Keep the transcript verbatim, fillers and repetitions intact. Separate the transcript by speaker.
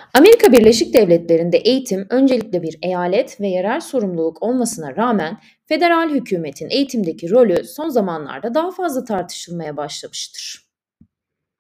Speaker 1: Amerika Birleşik Devletleri'nde eğitim öncelikle bir eyalet ve yerel sorumluluk olmasına rağmen federal hükümetin eğitimdeki rolü son zamanlarda daha fazla tartışılmaya başlamıştır.